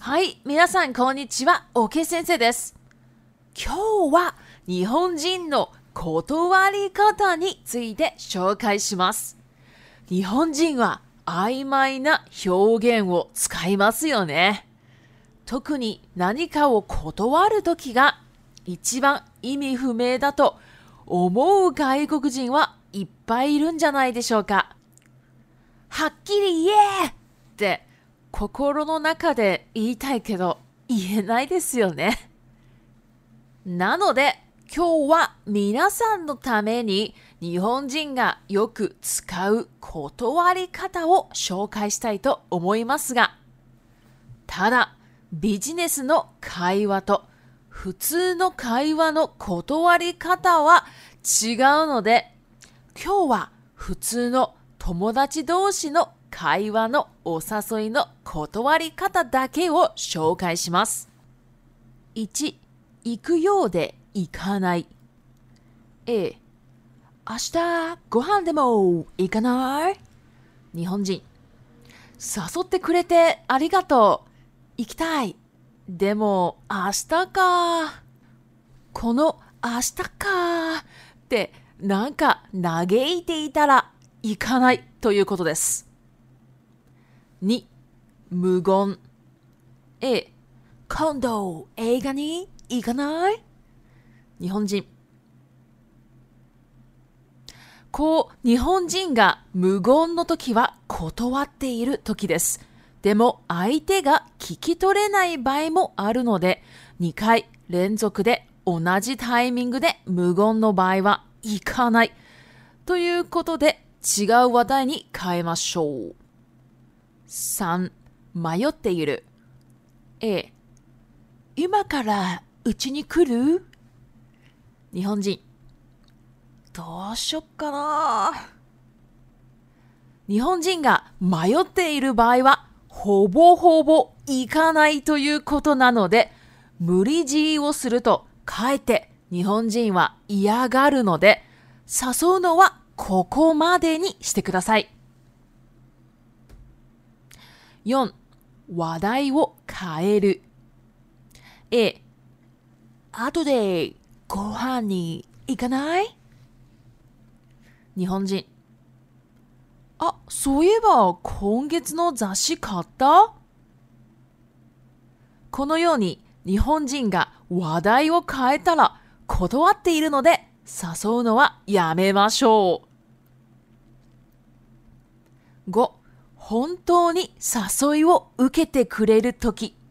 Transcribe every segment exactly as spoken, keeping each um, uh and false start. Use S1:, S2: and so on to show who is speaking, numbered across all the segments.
S1: はい、皆さんこんにちは、OK 先生です。今日は日本人の断り方について紹介します。日本人は曖昧な表現を使いますよね。特に何かを断るときが一番意味不明だと思う外国人はいっぱいいるんじゃないでしょうか。はっきり言えって心の中で言いたいけど言えないですよね。なので今日は皆さんのために日本人がよく使う断り方を紹介したいと思いますが、ただビジネスの会話と普通の会話の断り方は違うので、今日は普通の友達同士の会話のお誘いの断り方だけを紹介します。いち、行くようで行かない。A、明日ご飯でも行かない？日本人、誘ってくれてありがとう。行きたい。でも明日か。この明日かってなんか嘆いていたら行かないということです。に、無言。A、今度映画に行かない？日本人、こう日本人が無言の時は断っている時です。でも相手が聞き取れない場合もあるので、にかい連続で同じタイミングで無言の場合は行かないということで違う話題に変えましょう。さん、迷っている。 A、 今からうちに来る？日本人、どうしよっかな。日本人が迷っている場合はほぼほぼ行かないということなので、無理強いをするとかえって日本人は嫌がるので、誘うのはここまでにしてください。よん、話題を変える。 A、 後でご飯に行かない？日本人、あ、そういえば今月の雑誌買った？このように日本人が話題を変えたら断っているので、誘うのはやめましょう。ご、本当に誘いを受けてくれるとき。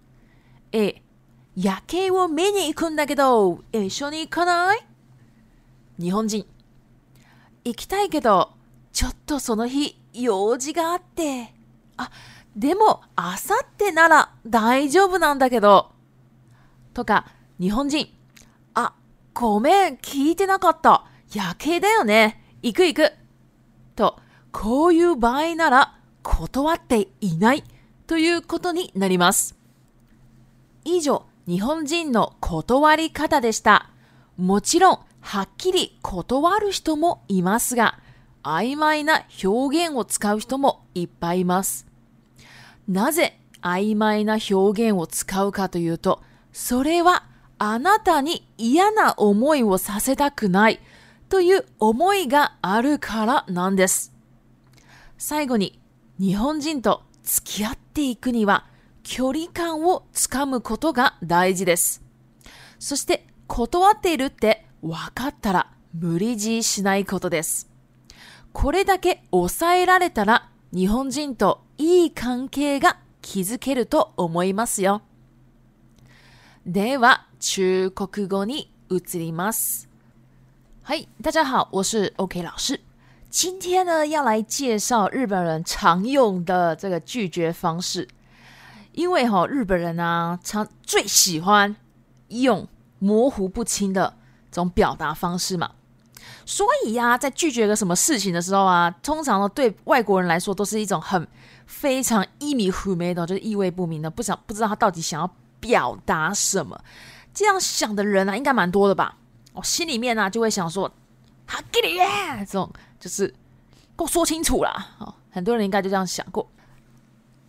S1: A、 夜景を見に行くんだけど一緒に行かない？日本人、行きたいけどちょっとその日用事があって、あ、でもあさってなら大丈夫なんだけど、とか。日本人、あ、ごめん聞いてなかった、夜景だよね、行く行くと、こういう場合なら断っていないということになります。以上、日本人の断り方でした。もちろんはっきり断る人もいますが、曖昧な表現を使う人もいっぱいいます。なぜ曖昧な表現を使うかというと、それはあなたに嫌な思いをさせたくないという思いがあるからなんです。最後に、日本人と付き合っていくには距離感をつかむことが大事です。そして断っているって分かったら無理強いしないことです。これだけ抑えられたら日本人といい関係が築けると思いますよ。では中国語に移ります。はい、大家好，我是 OK 老师。今天呢，要来介绍日本人常用的这个拒绝方式。因为哈、哦，日本人啊，常最喜欢用模糊不清的这种表达方式嘛。所以呀、啊，在拒绝个什么事情的时候啊，通常呢对外国人来说都是一种很非常意味不明的，就是意味不明的，不想不知道他到底想要表达什么。这样想的人啊，应该蛮多的吧？我、哦、心里面呢、啊、就会想说，哈给你耶，这种就是给我说清楚啦。哦，很多人应该就这样想过。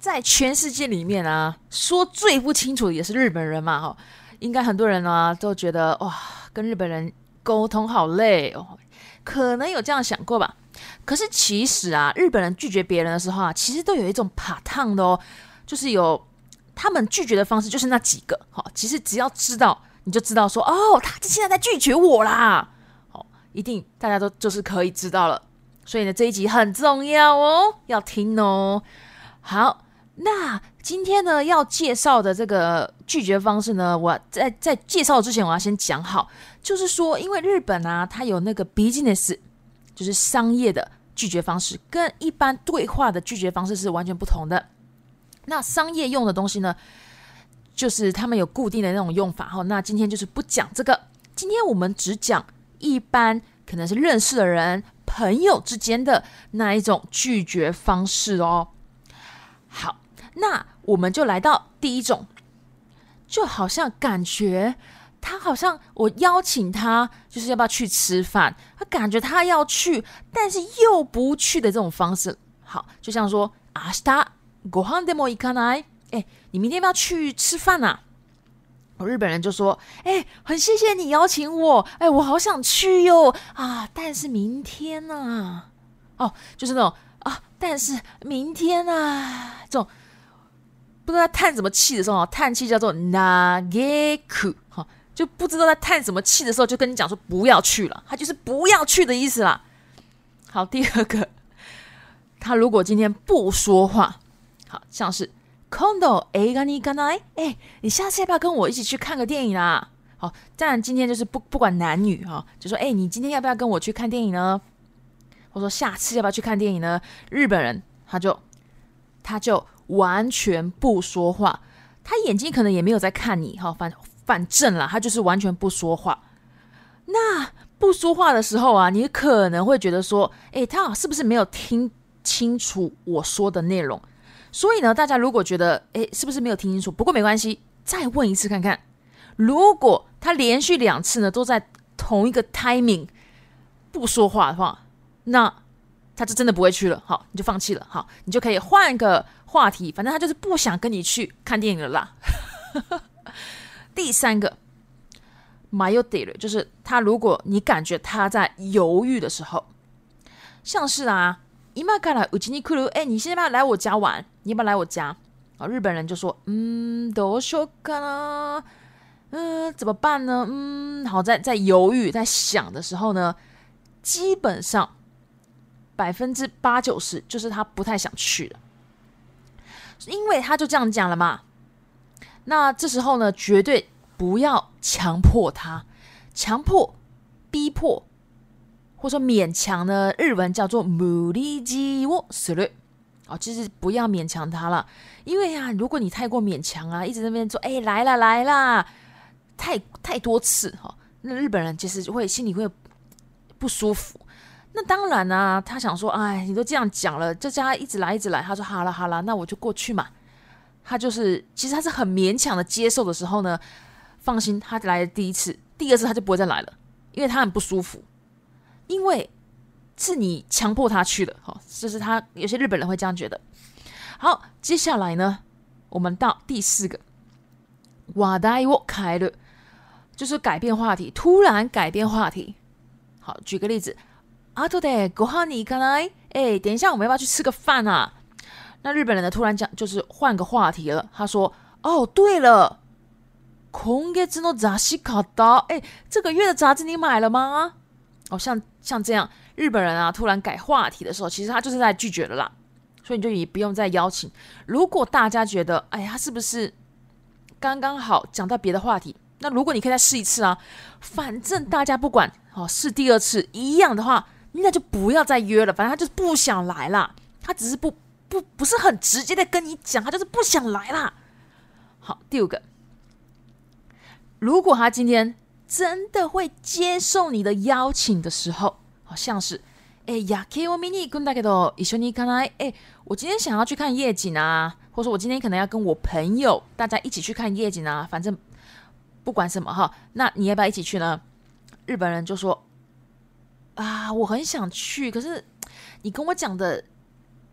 S1: 在全世界里面啊，说最不清楚的也是日本人嘛，哈，应该很多人啊都觉得哇，跟日本人沟通好累哦，可能有这样想过吧。可是其实啊，日本人拒绝别人的时候啊，其实都有一种怕烫的哦，就是有他们拒绝的方式就是那几个，好，其实只要知道你就知道说，哦，他现在在拒绝我啦，好，一定大家都就是可以知道了。所以呢，这一集很重要哦，要听哦。好，那今天呢要介绍的这个拒绝方式呢，我在在介绍之前我要先讲好，就是说，因为日本啊，它有那个 business， 就是商业的拒绝方式，跟一般对话的拒绝方式是完全不同的。那商业用的东西呢，就是他们有固定的那种用法，那今天就是不讲这个，今天我们只讲一般可能是认识的人、朋友之间的那一种拒绝方式哦。好，那我们就来到第一种，就好像感觉他好像我邀請他，就是要不要去吃饭，他感觉他要去，但是又不去的这种方式。好，就像说明日ご飯でも行かない？哎，你明天要不要去吃饭啊？日本人就说，哎，很谢谢你邀请我，哎，我好想去哟啊，但是明天啊，哦，就是那种啊，但是明天啊，这种不知道在叹什么气的时候，叹气叫做嘆く，哈，就不知道在叹什么气的时候，就跟你讲说不要去了，他就是不要去的意思啦。好，第二个，他如果今天不说话，好像是今度映画に行かない？哎，你下次要不要跟我一起去看个电影啊？好，当然今天就是不不管男女哈，就说哎，你今天要不要跟我去看电影呢？或者说下次要不要去看电影呢？日本人他就他就完全不说话，他眼睛可能也没有在看你哈，反反正啦，他就是完全不说话。那不说话的时候啊，你可能会觉得说，哎，他是不是没有听清楚我说的内容？所以呢，大家如果觉得，哎，是不是没有听清楚？不过没关系，再问一次看看。如果他连续两次呢都在同一个 timing 不说话的话，那他就真的不会去了。好，你就放弃了。好，你就可以换个话题，反正他就是不想跟你去看电影了啦。第三个，迷ってる，就是他如果你感觉他在犹豫的时候，像是啊。今からうちに来る？哎，你现在要不要来我家玩？你要不要来我家？哦，日本人就说，嗯，どうしようかな？嗯，怎么办呢？嗯，好，在在犹豫、在想的时候呢，基本上百分之八九十就是他不太想去的，因为他就这样讲了嘛。那这时候呢，绝对不要强迫他，强迫、逼迫。或者说勉强呢，日文叫做無理強をする，哦，就是不要勉强他了，因为啊，如果你太过勉强啊，一直在那边说，哎，来啦来啦，太太多次哈、哦，那日本人其实会心里会不舒服。那当然啊，他想说，哎，你都这样讲了，就叫他一直来一直来。他说好了好了，那我就过去嘛。他就是其实他是很勉强的接受的时候呢，放心，他来了第一次，第二次他就不会再来了，因为他很不舒服。因为是你强迫他去的，好，就是他有些日本人会这样觉得。好，接下来呢，我们到第四个，話題を変える，就是改变话题，突然改变话题。好，举个例子，後でご飯に行かない？哎，等一下我们要不要去吃个饭啊？那日本人呢，突然讲就是换个话题了，他说：“哦，对了，今月の雑誌買った？哎，这个月的杂志你买了吗？”哦，像像这样，日本人啊，突然改话题的时候，其实他就是在拒绝了啦，所以你就也不用再邀请。如果大家觉得，哎，他是不是刚刚好讲到别的话题？那如果你可以再试一次啊，反正大家不管哦，试第二次一样的话，那就不要再约了。反正他就是不想来啦，他只是不不不是很直接的跟你讲，他就是不想来啦。好，第五个，如果他今天真的会接受你的邀请的时候，好像是，哎，夜景を見に行くんだけど一緒に行かない？哎，我今天想要去看夜景啊，或者说我今天可能要跟我朋友大家一起去看夜景啊，反正不管什么哈，那你要不要一起去呢？日本人就说啊，我很想去，可是你跟我讲的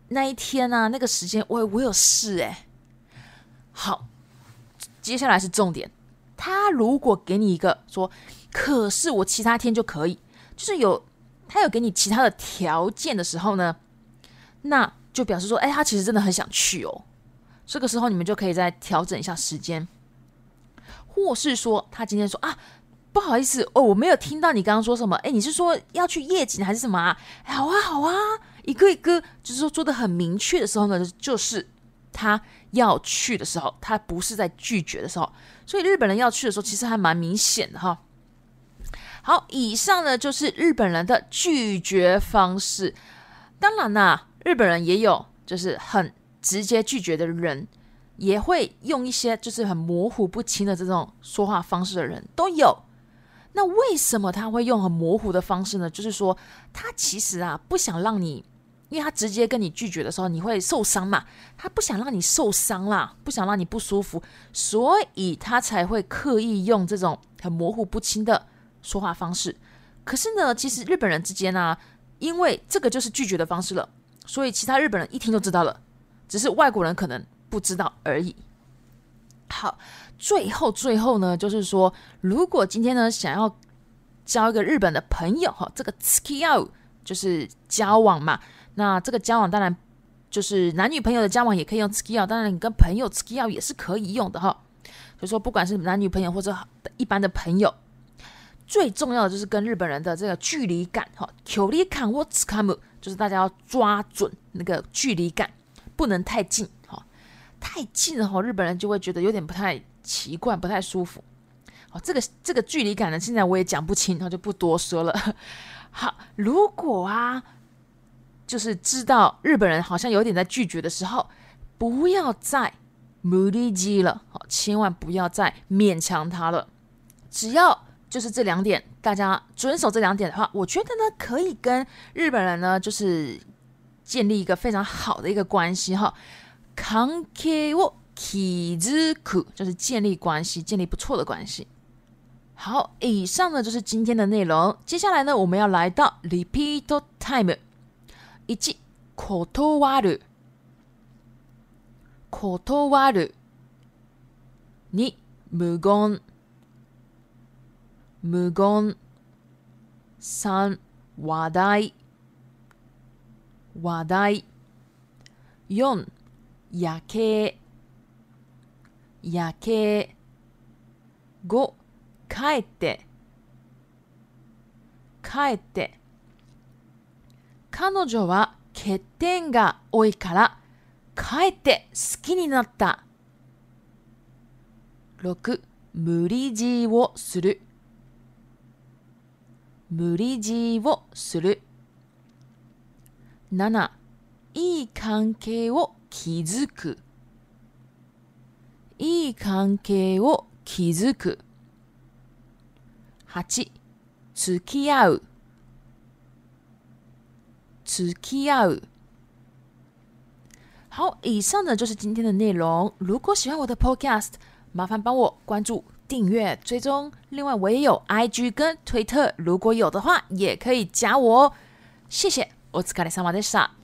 S1: 那一天啊，那个时间我我有事哎。好，接下来是重点。他如果给你一个说，可是我其他天就可以，就是有他有给你其他的条件的时候呢，那就表示说，哎，他其实真的很想去哦。这个时候你们就可以再调整一下时间，或是说他今天说啊，不好意思哦，我没有听到你刚刚说什么，哎，你是说要去夜景还是什么啊？好啊，好啊，一个一个，就是说做的很明确的时候呢，就是他要去的时候，他不是在拒绝的时候。所以日本人要去的时候，其实还蛮明显的哈。好，以上呢就是日本人的拒绝方式。当然啦、啊，日本人也有就是很直接拒绝的人，也会用一些就是很模糊不清的这种说话方式的人都有。那为什么他会用很模糊的方式呢？就是说他其实啊不想让你，因为他直接跟你拒绝的时候你会受伤嘛，他不想让你受伤啦，不想让你不舒服，所以他才会刻意用这种很模糊不清的说话方式。可是呢，其实日本人之间啊，因为这个就是拒绝的方式了，所以其他日本人一听就知道了，只是外国人可能不知道而已。好，最后最后呢，就是说，如果今天呢想要交一个日本的朋友，这个 tsukiau 就是交往嘛，那这个交往当然就是男女朋友的交往也可以用 tsukiau， 当然你跟朋友 tsukiau 也是可以用的哈。所以说不管是男女朋友或者一般的朋友，最重要的就是跟日本人的这个距离感，距離感をつかむ，就是大家要抓准那个距离感，不能太近，太近了日本人就会觉得有点不太奇怪，不太舒服。这个这个距离感呢，现在我也讲不清，就不多说了。好，如果啊，就是知道日本人好像有点在拒绝的时候，不要再無理強い了，千万不要再勉强他了。只要就是这两点，大家遵守这两点的话，我觉得呢，可以跟日本人呢，就是建立一个非常好的一个关系哈。関係を築く，就是建立关系，建立不错的关系。好，以上呢就是今天的内容。接下来呢，我们要来到 repeat time。一、断る断る。二、無言無言。三、話題話題。四、夜景夜景。五、帰って帰って。彼女は欠点が多いから帰って好きになった。六、無理強いをする無理強いをする。七、いい関係を築くいい関係を築く。八、付き合う付き合う。好，以上呢就是今天的内容。如果喜欢我的 podcast， 麻烦帮我关注、订阅、追踪。另外，我也有 I G 跟推特，如果有的话，也可以加我哦。谢谢，お疲れ様でした。